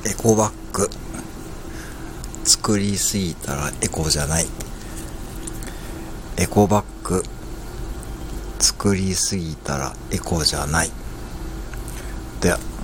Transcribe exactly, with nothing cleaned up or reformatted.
エコバッグ作りすぎたらエコじゃない。エコバッグ作りすぎたらエコじゃない。では。